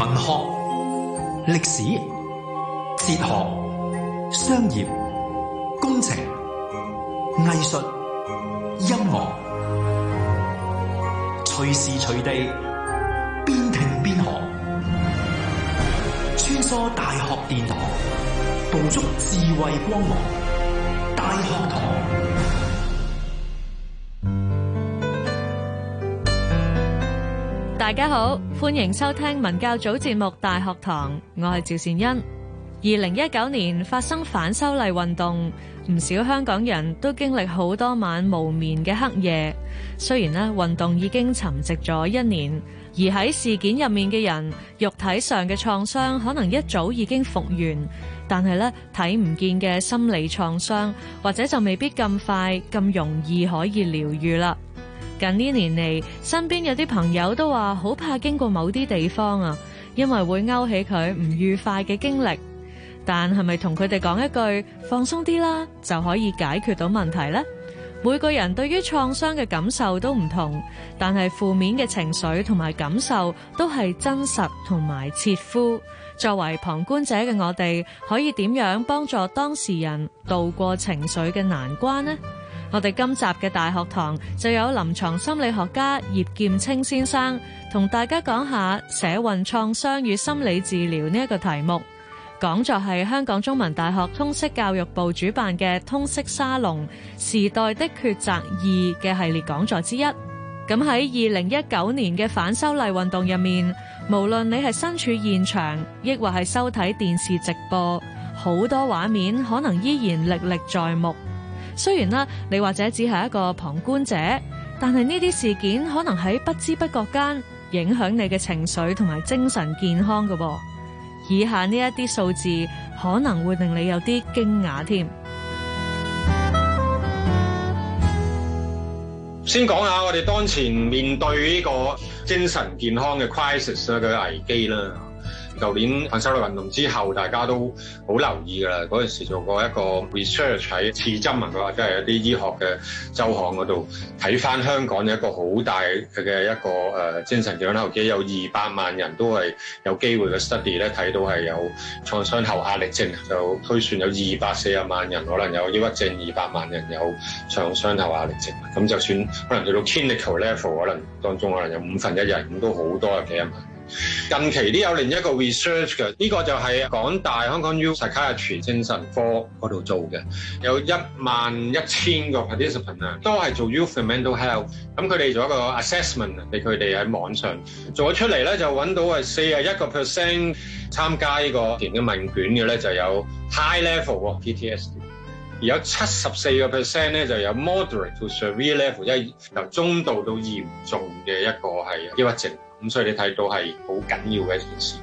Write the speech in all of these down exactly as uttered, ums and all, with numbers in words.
文學、歷史、哲學、商業、工程、藝術、音樂，隨時隨地邊聽邊學，穿梭大學殿堂，捕捉智慧光芒。大學堂。 大家好，歡迎收聽文教組節目《大學堂》，我係趙善恩。二零一九年發生反修例運動，唔少香港人都經歷好多晚無眠嘅黑夜。雖然呢運動已經沉寂咗一年，而喺事件入面嘅人，肉體上嘅創傷可能一早已經復原，但係咧睇唔見嘅心理創傷，或者就未必咁快咁容易可以療癒啦。近呢年嚟，身邊有啲朋友都話好怕經過某啲地方啊，因為會勾起佢唔愉快嘅經歷。但係咪同佢哋講一句放鬆啲啦，就可以解決到問題呢？每個人對於創傷嘅感受都唔同，但係負面嘅情緒同埋感受都係真實同埋切膚。作為旁觀者嘅我哋，可以點樣幫助當事人渡過情緒嘅難關呢？我哋今集嘅大學堂就有臨床心理學家葉劍青先生同大家講下社運創傷與心理治療呢一個題目。講座係香港中文大學通識教育部主辦嘅通識沙龍時代的抉擇二嘅系列講座之一。咁喺二零一九年嘅反修例運動入面，無論你係身處現場，抑或係收睇電視直播，好多畫面可能依然歷歷在目。雖然啦，你或者只係一個旁觀者，但係呢啲事件可能喺不知不覺間影響你嘅情緒同埋精神健康㗎噃。以下呢一啲數字可能會令你有啲驚訝添。 先講下我哋當前面對呢個精神健康嘅 crisis 嘅危機啦。舊年反修例運動之後，大家都好留意㗎啦。嗰陣時做過一個 research 喺刺針啊，或者係一啲醫學嘅週刊嗰度睇翻香港有一個好大嘅一個誒、呃、精神健康危機，有二百萬人都係有機會嘅 study 咧，睇到係有創傷後壓力症，就推算有二百四十萬人可能有抑鬱症，二百萬人有創傷後壓力症。咁就算可能去到 clinical level， 可能當中可能有五分一人，咁都好多有幾十萬。近期都有另一個 research 嘅，呢、這個就係港大香港 U Psychiatry 精神科嗰度做嘅，有一萬一千個 participant 啊，都係做 youth and mental health。咁佢哋做一個 assessment 俾佢哋喺網上做咗出嚟咧，就揾到係四十一個 percent 參加呢個填嘅問卷嘅咧，就有 high level P T S D， 而有七十四個 percent 咧就有 moderate to severe level， 即係由中度到嚴重嘅一個係抑鬱症。咁所以你睇到係好緊要嘅一件事。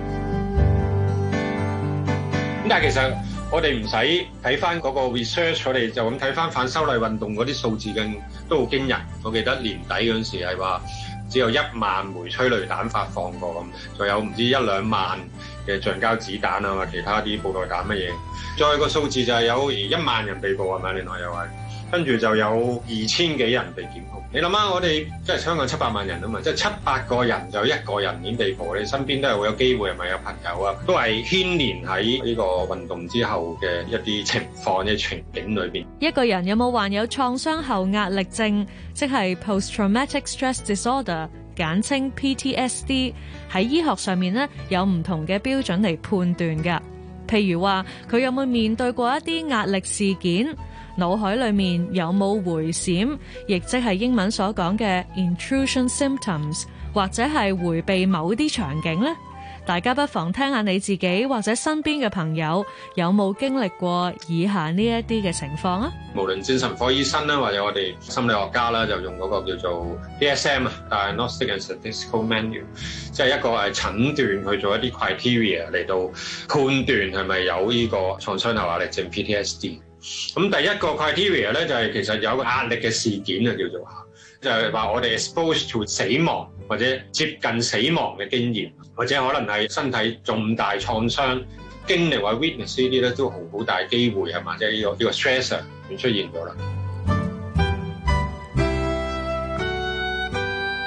咁但係其實我哋唔使睇翻嗰個 research， 我哋就咁睇翻反修例運動嗰啲數字嘅都好驚人。我記得年底嗰陣時係話只有一萬枚催淚彈發放過咁，仲有唔知一兩萬嘅橡膠子彈啊，或其他啲布袋彈乜嘢。再個數字就係有一萬人被捕係咪？另外又係跟住就有二千幾人被檢控。你諗下，我哋即係香港七百萬人啊嘛，即係七八個人就一個人已經被捕。你身邊都係會有機會係咪有朋友啊，都係牽連喺呢個運動之後嘅一啲情況嘅情景裏邊。 一個人有冇患有創傷後壓力症，即係 post-traumatic stress disorder， 簡稱 P T S D， 喺醫學上面咧有唔同嘅標準嚟判斷㗎。譬如話佢有冇面對過一啲壓力事件，腦海裏面有冇回閃，亦即係英文所講嘅 intrusion symptoms， 或者係迴避某啲場景呢？大家不妨聽下你自己或者身邊嘅朋友有冇經歷過以下呢一啲嘅情況啊？ 無論精神科醫生啦，或者我哋心理學家啦，就用嗰個叫做 D S M 啊 ，Diagnostic and Statistical Manual， 即係一個係診斷去做一啲 criteria 嚟到判斷係咪有呢個創傷後壓力症 P T S D。咁第一個 criteria 咧就係其實有個壓力嘅事件啊，叫做就係話我哋 exposed to 死亡或者接近死亡嘅經驗，或者可能係身體重大創傷經歷或 witness 呢啲咧，都好好大機會係嘛，即係呢個呢個 stressor 會出現咗啦。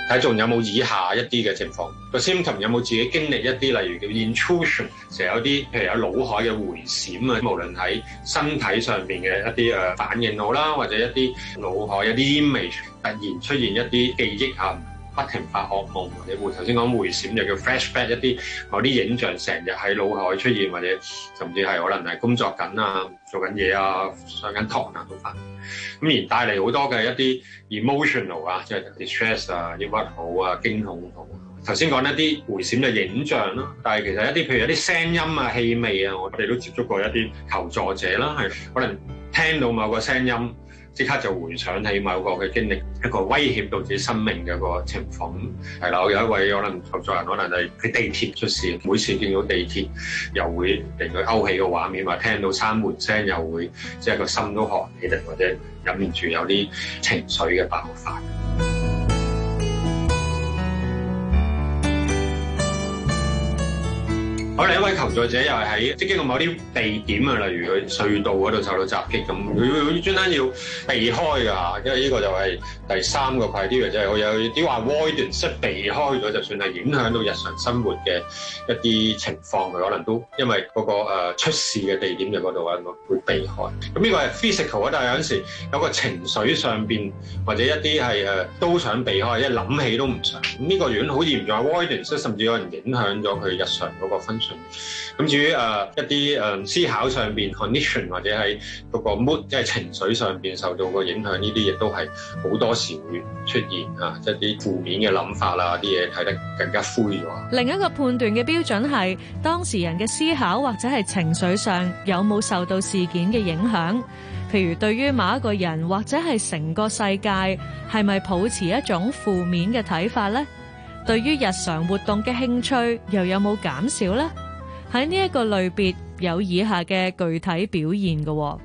睇仲有冇以下一啲嘅情況，個 symptom 有冇自己經歷一啲，例如叫 intrusion， 成日有啲譬如有腦海嘅回閃啊，無論喺身體上邊嘅一啲誒反應好啦，或者一啲腦海有啲 image 突然出現一啲記憶啊，不停發噩夢，或者會頭先講回閃就叫 flashback， 一啲某啲影像成日喺腦海出現，或者甚至係可能係工作緊啊、做緊嘢啊、上緊堂啊都發。咁而帶嚟好多嘅一啲 emotional 啊，即係 distress 啊、抑鬱好啊、驚恐好。頭先講一啲回閃嘅影像啦，但係其實一啲譬如一啲聲音啊、氣味啊，我哋都接觸過一啲求助者啦，係可能聽到某個聲音，即刻就回想起某個嘅經歷，一個威脅到自己生命嘅個情況。係啦，我有一位可能求助人，可能係喺地鐵出事，每次見到地鐵又會令佢勾起個畫面，或聽到閂門聲又會即係個心都寒起嚟，或者忍唔住有啲情緒嘅爆發。我另一位求助者又係喺即係經過某啲地點啊，例如佢隧道嗰度受到襲擊咁，佢佢專登要避開㗎，因為呢個就係第三個 criteria，就係我有啲話 avoidance，即係避開咗，就算係影響到日常生活嘅一啲情況，佢可能都因為嗰個誒出事嘅地點就嗰度啊，會避開。咁呢個係 physical 啊，但係有陣時有個情緒上邊或者一啲係誒都想避開，一諗起都唔想。咁呢個如果好嚴重 avoidance，甚至有人影響咗佢日常嗰個 function。咁至於誒、呃、一啲誒、呃、思考上邊 condition 或者係嗰個 mood 即係情緒上邊受到個影響，呢啲亦都係好多時會出現啊，即係啲負面嘅諗法啦，啲嘢睇得更加灰咗。 另一個判斷嘅標準係當事人嘅思考或者係情緒上有冇受到事件嘅影響，譬如對於某一個人或者係成個世界係咪抱持一種負面嘅睇法呢？對於日常活動嘅興趣又有冇減少呢？喺呢一個類別有以下嘅具體表現嘅。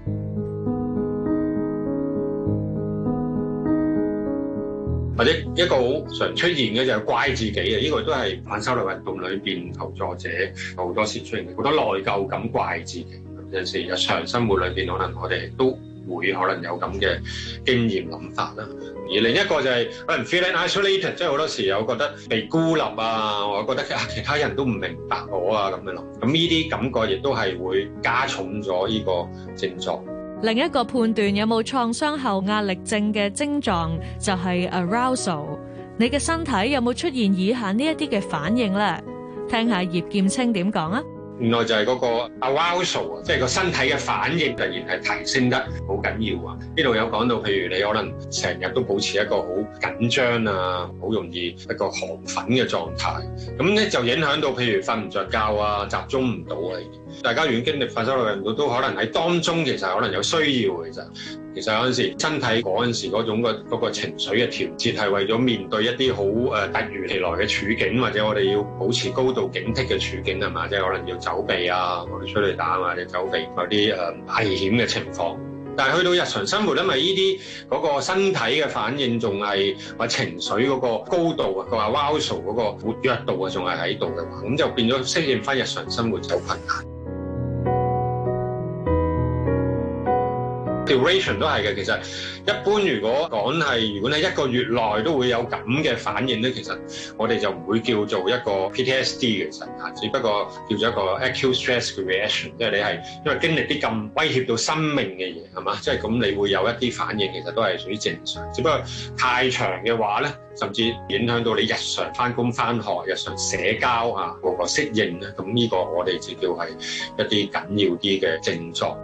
或者一個好常出現嘅就係怪自己嘅，呢、這個都係反修例運動裏邊求助者好多時出現嘅，好多內疚感、怪自己。有陣時日常生活裏邊可能我哋都會可能有咁嘅經驗諗法啦。而另一個就係可能 feeling isolated，即係好多時有覺得被孤立啊，我覺得其他人都唔明白我啊咁樣咯。咁呢啲感覺亦都係會加重咗呢個症狀。 另一個判斷有冇創傷後壓力症嘅症狀就係 arousal。你嘅身體有冇出現以下呢一啲嘅反應咧？聽下葉劍青點講啊！ 原來就係嗰個 arousal 啊，即係個身體嘅反應突然係提升得好緊要啊！呢度有講到，譬如你可能成日都保持一個好緊張啊，好容易一個亢奮嘅狀態，咁咧就影響到譬如瞓唔着覺啊，集中唔到啊！大家如果經歷發生嘅人都都可能喺當中，其實可能有需要嘅。其實其實有陣時身體嗰陣時嗰種個嗰個情緒嘅調節係為咗面對一啲好誒突如其來嘅處境，或者我哋要保持高度警惕嘅處境係嘛？即係可能要走避啊，我哋出去打或者走避某啲誒危險嘅情況。但係去到日常生活，因為呢啲嗰個身體嘅反應仲係或情緒嗰個高度啊，個 arousal 嗰個活躍度啊，仲係喺度嘅話，咁就變咗適應翻日常生活就困難。Duration 都係嘅，其實一般如果講係，如果你一個月內都會有咁嘅反應咧，其實我哋就唔會叫做一個 P T S D 嘅，其實嚇，只不過叫做一個 acute stress reaction，即係你係因為經歷啲咁威脅到生命嘅嘢，係嘛？即係咁你會有一啲反應，其實都係屬於正常。只不過太長嘅話咧，甚至影響到你日常返工返學、日常社交啊嗰個適應咧，咁呢個我哋就叫係一啲緊要啲嘅症狀。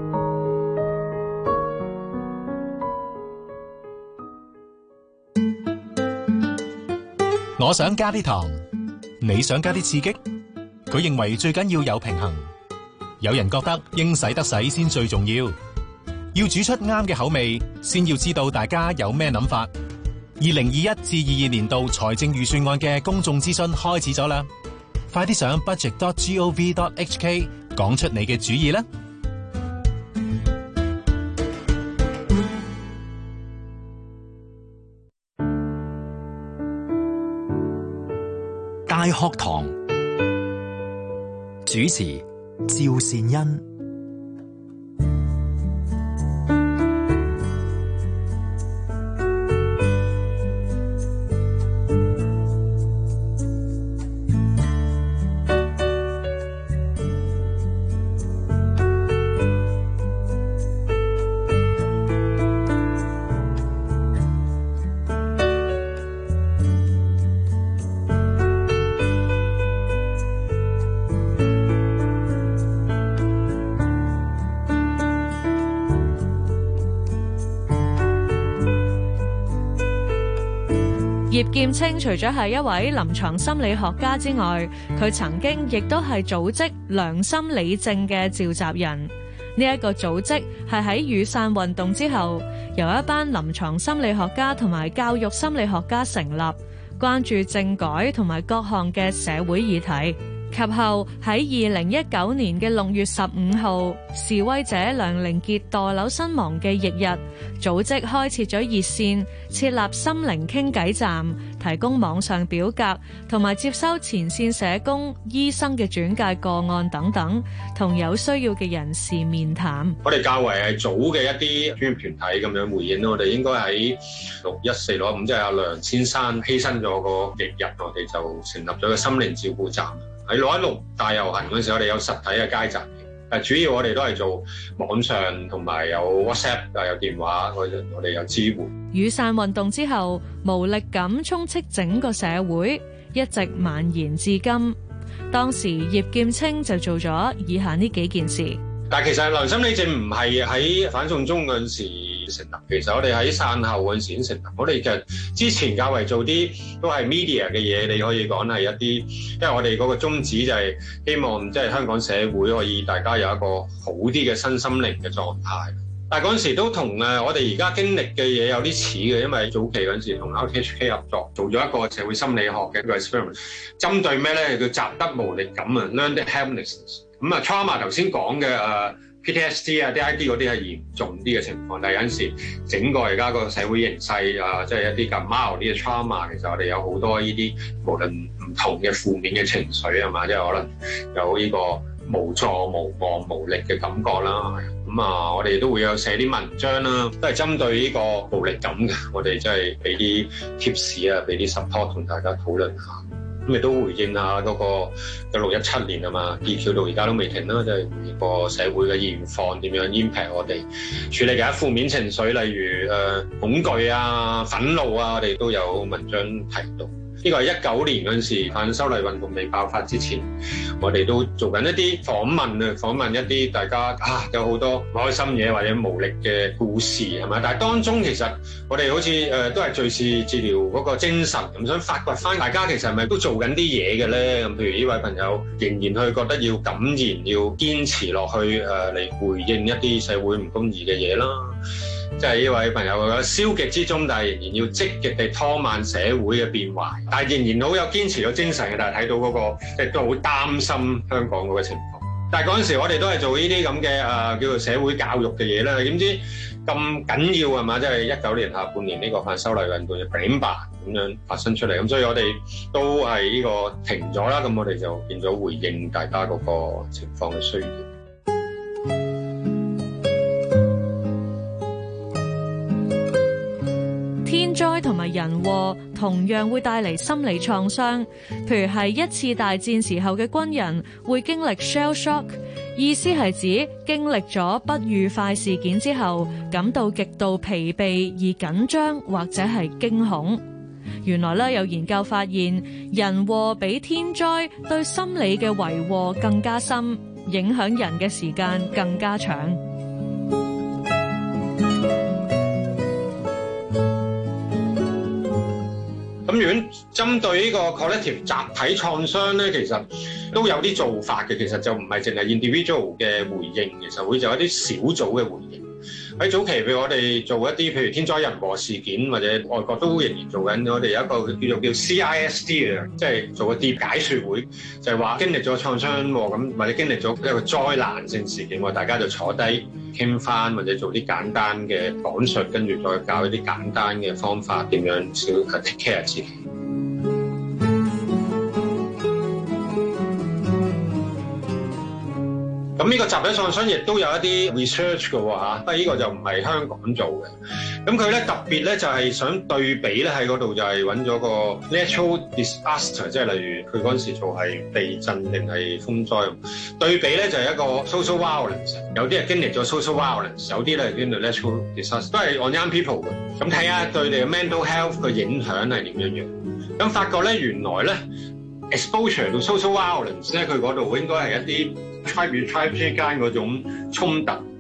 我想加啲糖，你想加啲刺激？佢認為最緊要有平衡。有人覺得應使得使先最重要，要煮出啱嘅口味，先要知道大家有咩諗法。二零二一至二二年度財政預算案嘅公眾諮詢開始咗啦，快啲上 budget dot gov dot hk 講出你嘅主意啦！ 大學堂主持趙善恩。 葉劍青除咗係一位臨床心理學家之外，佢曾經亦都係組織良心理政嘅召集人。呢一個組織係喺雨傘運動之後，由一班臨床心理學家同埋教育心理學家成立，關注政改同埋各項嘅社會議題。及後喺二零一九年嘅六月十五號，示威者梁凌杰墮樓身亡嘅翌日，組織開設咗熱線，設立心靈傾偈站，提供網上表格同埋接收前線社工、醫生嘅轉介個案等等，同有需要嘅人士面談。 我哋較為係早嘅一啲專業團體咁樣回應，我哋應該喺六一四六一五，即係阿梁先生犧牲咗個翌日，我哋就成立咗個心靈照顧站。喺六一六大遊行嗰陣時，我哋有實體嘅街站，誒主要我哋都係做網上同埋有 WhatsApp 啊，有電話，我哋我哋有支援。 雨傘運動之後，無力感充斥整個社會，一直蔓延至今。當時葉劍青就做咗以下呢幾件事。 但係其實良心理政唔係喺反送中嗰陣時成立，其實我哋喺散後嗰陣時已經成立。我哋其實之前較為做啲都係 media 嘅嘢，你可以講係一啲，因為我哋嗰個宗旨就係希望即係香港社會可以大家有一個好啲嘅身心靈嘅狀態。但係嗰陣時都同誒我哋而家經歷嘅嘢有啲似嘅，因為早期嗰陣時同 R T H K 合作做咗一個社會心理學嘅一個 experiment， 針對咩咧？叫習得無力感啊 ，learned helplessness。咁啊 trauma 頭先講嘅誒 P T S D 啊、D I D 嗰啲係嚴重啲嘅情況，但係有陣時整個而家個社會形勢啊，即係一啲咁 mild 啲嘅 trauma， 其實我哋有好多呢啲無論唔同嘅負面嘅情緒係嘛，即係可能有呢個無助、無望、無力嘅感覺啦。咁啊，我哋都會有寫啲文章啦，都係針對呢個無力感嘅，我哋即係俾啲 tips 啊，俾啲 support 同大家討論下。咁亦都回應下嗰個一六一七年啊嘛 ，D Q 到而家都未停啦，即係個社會嘅現況點樣 impact 我哋處理嘅負面情緒，例如誒、呃、恐懼啊、憤怒啊，我哋都有文章提到。呢個係一九年嗰陣時反修例運動未爆發之前，我哋都做緊一啲訪問啊，訪問一啲大家啊有好多唔開心嘢或者無力嘅故事係咪？但係當中其實我哋好似誒、呃、都係敘事治療嗰個精神咁，想發掘翻大家其實係咪都做緊啲嘢嘅咧？咁譬如呢位朋友仍然去覺得要敢言，要堅持落去誒嚟、呃、回應一啲社會唔公義嘅嘢啦。即係呢位朋友嘅消極之中，但係仍然要積極地拖慢社會嘅變壞，但係仍然好有堅持嘅精神嘅。但係睇到嗰、那個即係都好擔心香港嗰個情況。但係嗰陣時我哋都係做呢啲咁嘅誒叫做社會教育嘅嘢啦。點知咁緊要係嘛？即係一九年下半年呢個反修例運動嘅頂吧咁樣發生出嚟，咁所以我哋都係呢個停咗啦。咁我哋就變咗回應大家嗰個情況嘅需要。 天災同埋人禍同樣會帶嚟心理創傷，譬如係一次大戰時候嘅軍人會經歷 shell shock， 意思係指經歷咗不愉快事件之後，感到極度疲憊而緊張或者係驚恐。原來咧有研究發現，人禍比天災對心理嘅遺禍更加深，影響人嘅時間更加長。 咁如果針對呢個 collective 集體創傷咧，其實都有啲做法嘅。其實就唔係淨係 individual 嘅回應，其實會做一啲小組嘅回應。喺早期譬如我哋做一啲譬如天災人禍事件，或者外國都仍然做緊，我哋有一個叫做叫 C I S D 嘅，即係做個碟解說會，就係話經歷咗創傷咁，或者經歷咗一個災難性事件，大家就坐低傾翻，或者做啲簡單嘅講述，跟住再教一啲簡單嘅方法，點樣少 take care 自己。咁呢個集體創傷亦都有一啲 research 嘅喎嚇，不過呢個就唔係香港做嘅。咁佢咧特別咧就係想對比咧喺嗰度就係揾咗個 natural disaster， 即係例如佢嗰陣時做係地震定係風災。對比咧就係一個 social violence， 有啲係經歷咗 social violence， 有啲咧係經歷 natural disaster， 都係 on young people 嘅。咁睇下對你嘅 mental health 嘅影響係點樣樣。咁發覺咧原來咧 exposure to social violence 咧佢嗰度應該係一啲tribe與 tribe 之間嗰種衝突，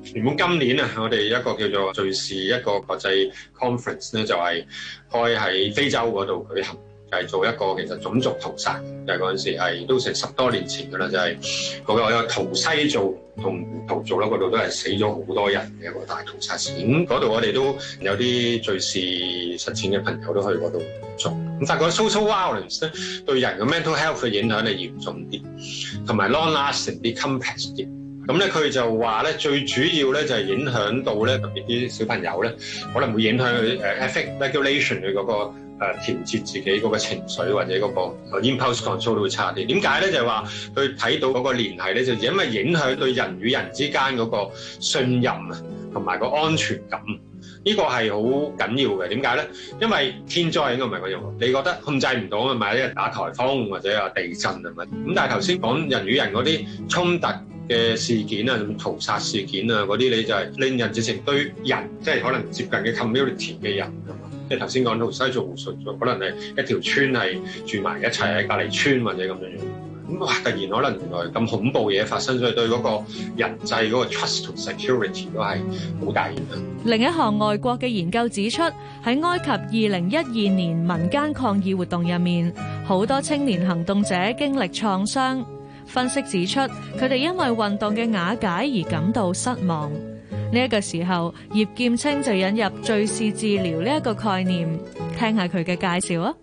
原本今年啊，我哋一個叫做敘事一個國際 conference 咧，就係開喺非洲嗰度舉行。係做一個其實種族屠殺，就係嗰陣時係都成十多年前㗎啦，就係、是、嗰個圖西做同圖做啦，嗰度都係死咗好多人嘅一個大屠殺事件。咁嗰度我哋都有啲敘事實踐嘅朋友都去嗰度做。咁發覺 social violence 咧對人嘅 mental health 嘅影響係嚴重啲，同埋 long-lasting 啲 complex 啲。咁咧佢就話咧最主要咧就係影響到咧特別啲小朋友咧，可能會影響佢誒 affect regulation 佢嗰個。誒、呃、調節自己嗰個情緒或者嗰個 impulse control 都會差啲。點解咧？就係話佢睇到嗰個聯繫咧，就因為影響對人與人之間嗰個信任啊，同埋個安全感。呢、這個係好緊要嘅。點解咧？因為天災應該唔係嗰種，你覺得控制唔到啊嘛？一日打颱風或者有地震啊嘛。咁但係頭先講人與人嗰啲衝突嘅事件啊，屠殺事件啊嗰啲，你就係令人直情對人，即係可能接近嘅 community 嘅人啊嘛。即係頭先講到西做術咗，可能係一條村係住埋一齊喺隔離村或者咁樣樣，咁哇突然可能原來咁恐怖嘢發生，所以對嗰個人際嗰個 trust 同 security 都係好大影響。 另一項外國嘅研究指出，喺埃及二零一二年民間抗議活動入面，好多青年行動者經歷創傷。分析指出，佢哋因為運動嘅瓦解而感到失望。呢一個時候，葉劍青就引入敘事治療呢一個概念，聽下佢嘅介紹啊。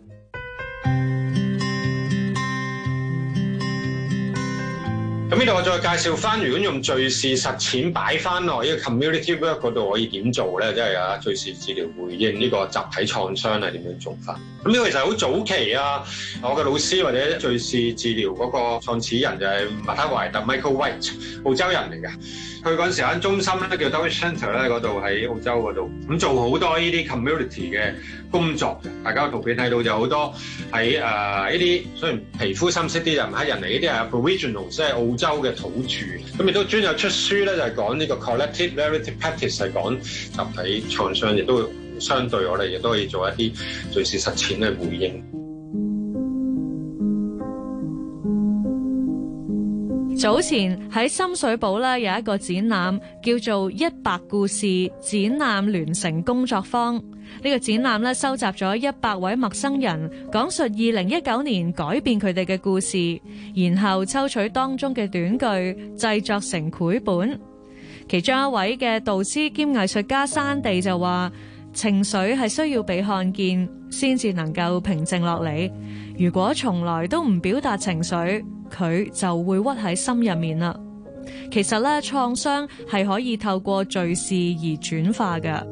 咁呢度我再介紹翻，如果用敘事實踐擺翻落呢個 community work 嗰度，可以點做咧？即係啊，敘事治療回應呢個集體創傷係點樣做法？咁呢個其實好早期啊！我嘅老師或者敘事治療嗰個創始人就係麥克懷特 Michael White， 澳洲人嚟嘅。佢嗰陣時間中心咧叫 Dawit Center 咧，嗰度喺澳洲嗰度，咁做好多呢啲 community 嘅工作嘅。大家個圖片睇到就好多喺誒呢啲雖然皮膚深色啲就唔係黑人嚟，呢啲係 Aboriginal 即係澳洲嘅土著。咁亦都專有出書咧，就係講呢個 collective narrative practice 係講集體創傷，亦都相對我哋亦都可以做一啲敘事實踐嘅回應。 早前喺深水埗咧有一個展覽叫做一百故事展覽聯成工作坊。呢個展覽咧收集咗一百位陌生人講述二零一九年改變佢哋嘅故事，然後抽取當中嘅短句製作成繪本。其中一位嘅導師兼藝術家山地就話，情緒係需要被看見先至能夠平靜落嚟，如果從來都唔表達情緒，佢就會屈喺心入面啦。其實咧，創傷係可以透過敘事而轉化嘅。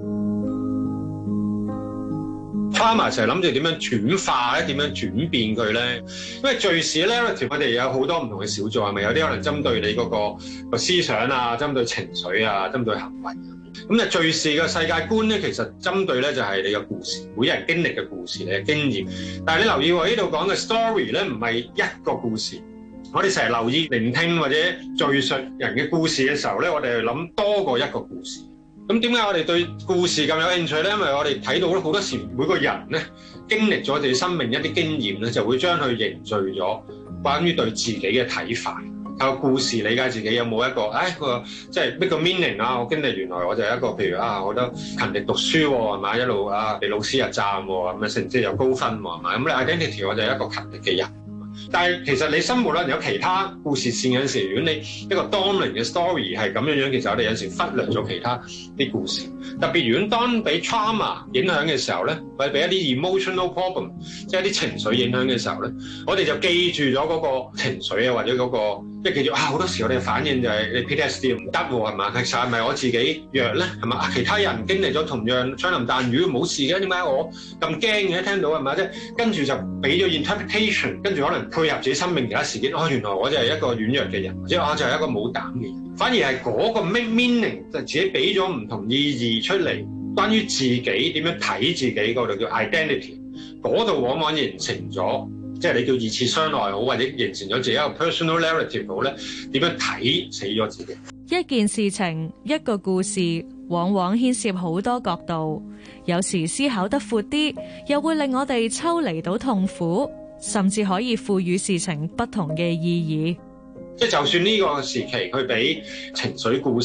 Trauma 成日諗住點樣轉化咧，點樣轉變佢咧？因為敘事 narrative 我哋有好多唔同嘅小組，係咪有啲可能針對你嗰個個思想啊，針對情緒啊，針對行為。咁咧敘事嘅世界觀咧，其實針對咧就係你嘅故事，每人經歷嘅故事，你嘅經驗。但係你留意我呢度講嘅 story 咧，唔係一個故事。我哋成日留意聆聽或者敘述人嘅故事嘅時候咧，我哋係諗多過一個故事。咁點解我哋對故事咁有興趣咧？因為我哋睇到咧好多時每個人咧經歷咗自己生命一啲經驗咧，就會將佢凝聚咗關於對自己嘅睇法。靠故事理解自己有冇一個，唉個即係 make 個 meaning 啊！我經歷原來我就係一個，譬如啊，我覺得勤力讀書喎，係嘛，一路啊被老師又讚喎，咁啊成績又高分喎，係嘛，咁你 identity 我就係一個勤力嘅人。但係其實你生活咧有其他故事線嗰陣時，如果你一個 dominant 嘅 story 係咁樣樣，其實我哋有時忽略咗其他啲故事。特別如果當俾 trauma 影響嘅時候咧，或者俾一啲 emotional problem， 即係一啲情緒影響嘅時候咧，我哋就記住咗嗰個情緒啊，或者嗰個即係記住啊，好多時我哋嘅反應就係你 P T S D 唔得喎，係嘛？其實係咪我自己弱咧？係嘛？其他人經歷咗同樣槍林彈雨冇事嘅，點解我咁驚嘅？聽到係咪？即係跟住就俾咗 interpretation， 跟住可能配合自己生命其他事件，哦，原來我就係一個軟弱嘅人，或者我就係一個冇膽嘅人。反而係嗰個 meaning 就自己俾咗唔同意義出嚟，關於自己點樣睇自己嗰度叫 identity， 嗰度往往形成咗，即係你叫二次傷害好，或者形成咗自己一個 personal narrative 好咧，點樣睇死咗自己。 一件事情，一個故事，往往牽涉好多角度，有時思考得闊啲，又會令我哋抽離到痛苦，甚至可以賦予事情不同嘅意義。 即係就算呢個時期佢俾情緒故事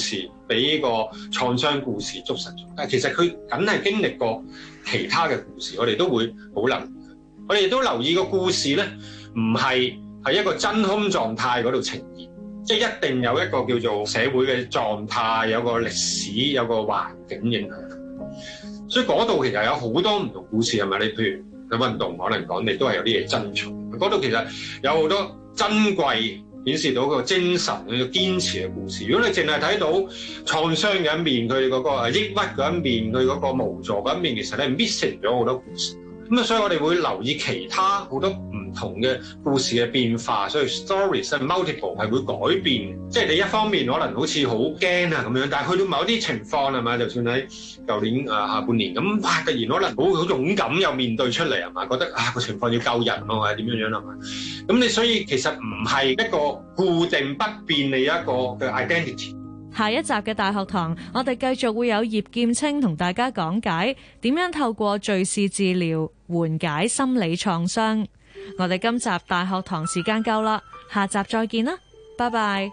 俾個創傷故事捉實咗。但係其實佢梗係經歷過其他嘅故事，我哋都會好留意。我哋都留意個故事咧，唔係喺一個真空狀態嗰度呈現，即係一定有一個叫做社會嘅狀態，有個歷史，有個環境影響。所以嗰度其實有好多唔同故事，係咪？你譬如喺運動可能講，你都係有啲嘢珍藏。嗰度其實有好多珍貴，顯示到個精神佢嘅堅持嘅故事。如果你淨係睇到創傷嘅一面，佢嗰個抑鬱嗰一面，佢嗰個無助嗰一面，其實你 missing 咗好多故事。咁啊，所以我哋會留意其他好多唔同嘅故事嘅變化，所以 stories 係 multiple 係會改變。即係你一方面可能好似好驚啊咁樣，但係去到某啲情況係嘛，就算喺舊年啊下半年咁，哇！突然可能好好勇敢又面對出嚟係嘛，覺得啊個情況要救人咯，或者點樣樣係嘛。咁你所以其實唔係一個固定不變嘅一個嘅 identity。 下一集嘅大學堂，我哋繼續會有葉劍青同大家講解點樣透過敘事治療緩解心理創傷。我哋今集大學堂時間夠啦，下集再見啦，拜拜。